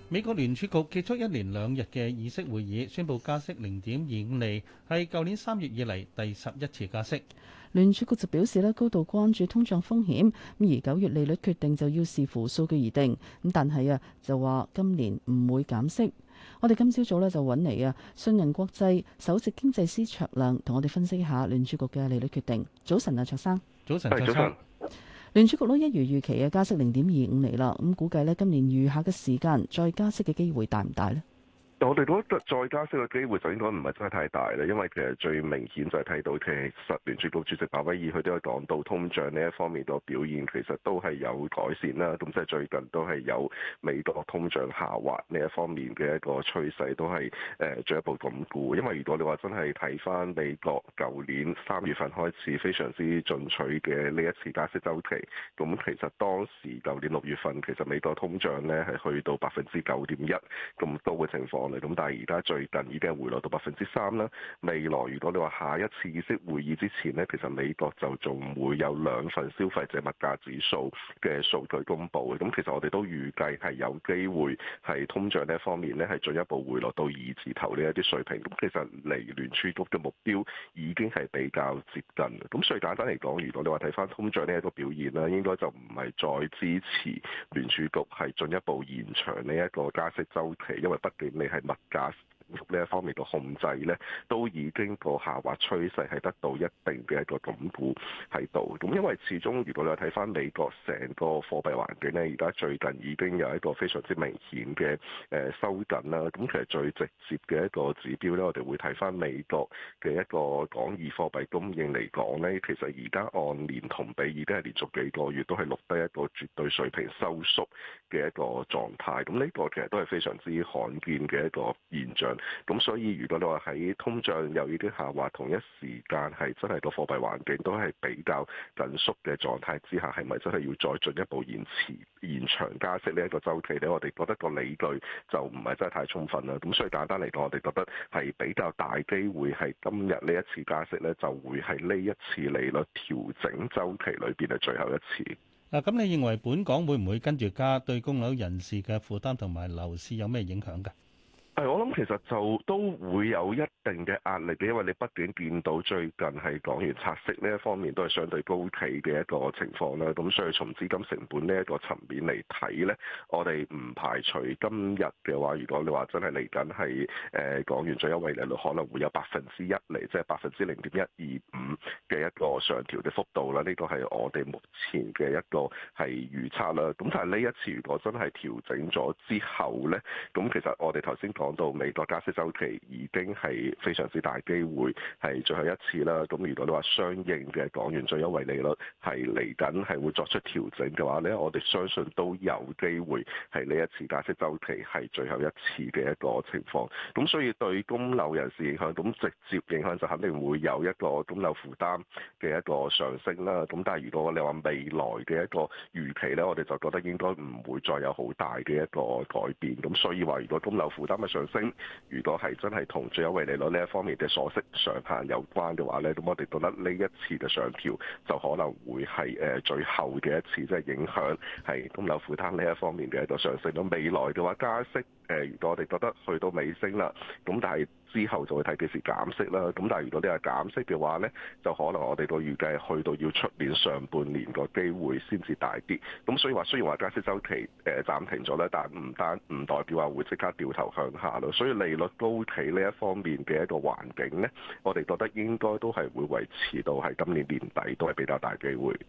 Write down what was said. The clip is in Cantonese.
美國聯儲局結束一連2日嘅議息會議，宣布加息0.25厘，係舊年3月以嚟第11次加息。 聯儲局就表示咧，高度關注通脹風險，而9月利率決定就要視乎數據而定。但係就話今年唔會減息。我哋今朝早咧就揾嚟信銀國際首席經濟師卓亮同我哋分析一下聯儲局嘅利率決定。早晨啊，卓生。 早晨，卓生。 聯儲局都一如預期嘅加息0.25厘啦，咁估計咧今年餘下嘅時間再加息嘅機會大唔大呢？ 我哋覺得再加息嘅機會就應該唔係真係太大啦，因為其實最明顯就係睇到其實聯儲局主席鮑威爾佢都有講到通脹呢一方面個表現其實都係有改善啦，咁即係最近都係有美國通脹下滑呢一方面嘅一個趨勢都係進一步鞏固。因為如果你話真係睇翻美國舊年3月份開始非常之進取嘅呢一次加息週期，咁其實當時舊年6月份其實美國通脹呢係去到9.1%咁高嘅情況。咁但係而家最近已經係回落到3%啦。未來如果你話下一次議息會議之前呢，其實美國就仲會有2份消費者物價指數嘅數據公布嘅。咁其實我哋都預計係有機會係通脹呢一方面呢係進一步回落到2字頭呢一啲水平。咁其實離聯儲局嘅目標已經係比較接近。咁所以簡單嚟講，如果你話睇翻通脹呢一個表現啦，應該就唔係再支持聯儲局係進一步延長呢一個加息週期，因為畢竟你係物價呢一方面嘅控制呢，都已經個下滑趨勢係得到一定嘅一個鞏固喺度。咁因為始終如果你睇翻美國成個貨幣環境呢，而家最近已經有一個非常之明顯嘅收緊啦。咁其實最直接嘅一個指標呢，我哋會睇翻美國嘅一個港義貨幣供應嚟講呢，其實而家按年同比已經係連續幾個月都係錄得一個絕對水平收縮嘅一個狀態。咁呢個其實都係非常之罕見嘅一個現象。咁所以如果你話喺通脹又已經下滑，同一時間係真係個貨幣環境都係比較緊縮嘅狀態之下，係咪真係要再進一步延長加息呢一個週期呢？我哋覺得個理據就唔係真係太充分啦。咁所以簡單嚟講，我哋覺得係比較大機會係今日呢一次加息呢，就會係呢一次利率調整週期裏邊嘅最後一次。 嗱，咁你認為本港會唔會跟住加，對供樓人士嘅負擔同埋樓市有咩影響㗎？ 我諗其實就都會有一定嘅壓力嘅，因為你畢竟見到最近係港元拆息呢一方面都係相對高企嘅一個情況啦。咁所以從資金成本呢一個層面嚟睇呢，我哋唔排除今日嘅話，如果你話真係嚟緊係港元最優惠利率可能會有1%嚟，即係0.125%嘅一個上調嘅幅度啦。呢個係我哋目前嘅一個係預測啦。咁但係呢一次如果真係調整咗之後呢，咁其實我哋頭先講到美國加息週期已經係非常之大機會係最後一次啦。咁如果你話相應嘅港元最優惠利率係嚟緊係會作出調整嘅話呢，我哋相信都有機會係呢一次加息週期係最後一次嘅一個情況。咁所以對供樓人士影響，咁直接影響就肯定會有一個供樓負擔嘅一個上升啦。咁但係如果你話未來嘅一個預期呢，我哋就覺得應該唔會再有好大嘅一個改變。咁所以話如果供樓負擔嘅上升，如果係真係同最優惠利率呢一方面嘅鎖息上限有關嘅話呢，咁我哋覺得呢一次嘅上調就可能會係最後嘅一次，即係影響係供樓負擔呢一方面嘅一個上升。咁未來嘅話加息，如果我哋覺得去到尾聲啦，咁但係之後就會睇幾時減息啦。咁但係如果你係減息嘅話呢，就可能我哋都預計去到要出年上半年個機會先至大啲。咁所以話雖然話加息週期暫停咗咧，但唔代表話會即刻掉頭向下咯。所以利率高企呢一方面嘅一個環境呢，我哋覺得應該都係會維持到係今年年底都係比較大機會。